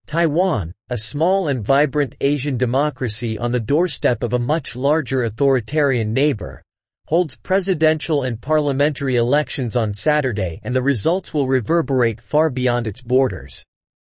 Taiwan, a small and vibrant Asian democracy on the doorstep of a much larger authoritarian neighbor, holds presidential and parliamentary elections on Saturday, and the results will reverberate far beyond its borders.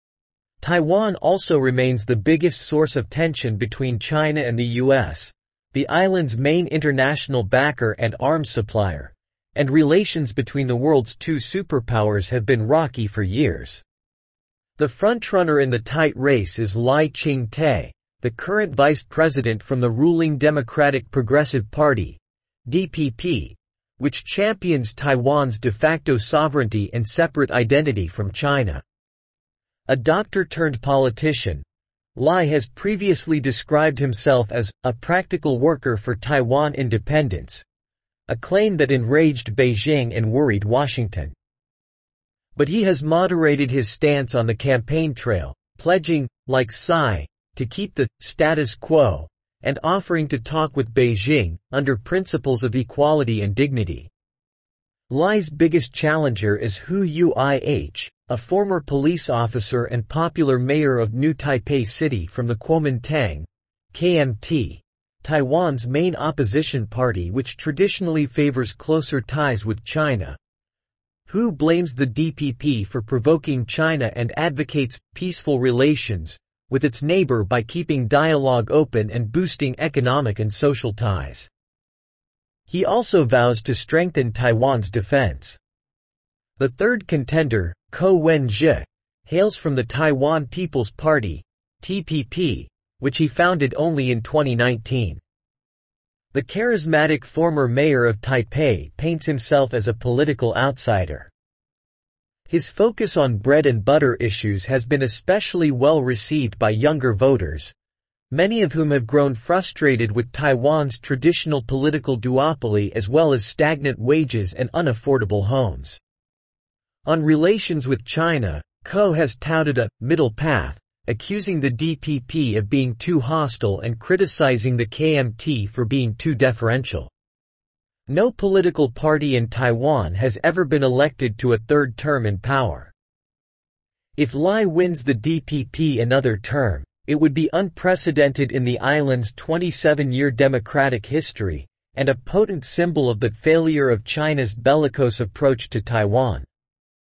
Taiwan also remains the biggest source of tension between China and the U.S., the island's main international backer and arms supplier, and relations between the world's two superpowers have been rocky for years. The frontrunner in the tight race is Lai Ching-te, the current vice president from the ruling Democratic Progressive Party, DPP, which champions Taiwan's de facto sovereignty and separate identity from China. A doctor-turned-politician, Lai has previously described himself as a practical worker for Taiwan independence, a claim that enraged Beijing and worried Washington. But he has moderated his stance on the campaign trail, pledging, like Tsai, to keep the status quo, and offering to talk with Beijing, under principles of equality and dignity. Lai's biggest challenger is Hu Yuih, a former police officer and popular mayor of New Taipei City from the Kuomintang, KMT, Taiwan's main opposition party which traditionally favors closer ties with China. Hu blames the DPP for provoking China and advocates peaceful relations with its neighbor by keeping dialogue open and boosting economic and social ties. He also vows to strengthen Taiwan's defense. The third contender, Ko Wen-je, hails from the Taiwan People's Party, TPP, which he founded only in 2019. The charismatic former mayor of Taipei paints himself as a political outsider. His focus on bread and butter issues has been especially well received by younger voters, many of whom have grown frustrated with Taiwan's traditional political duopoly as well as stagnant wages and unaffordable homes. On relations with China, Ko has touted a middle path, accusing the DPP of being too hostile and criticizing the KMT for being too deferential. No political party in Taiwan has ever been elected to a third term in power. If Lai wins the DPP another term, it would be unprecedented in the island's 27-year democratic history, and a potent symbol of the failure of China's bellicose approach to Taiwan.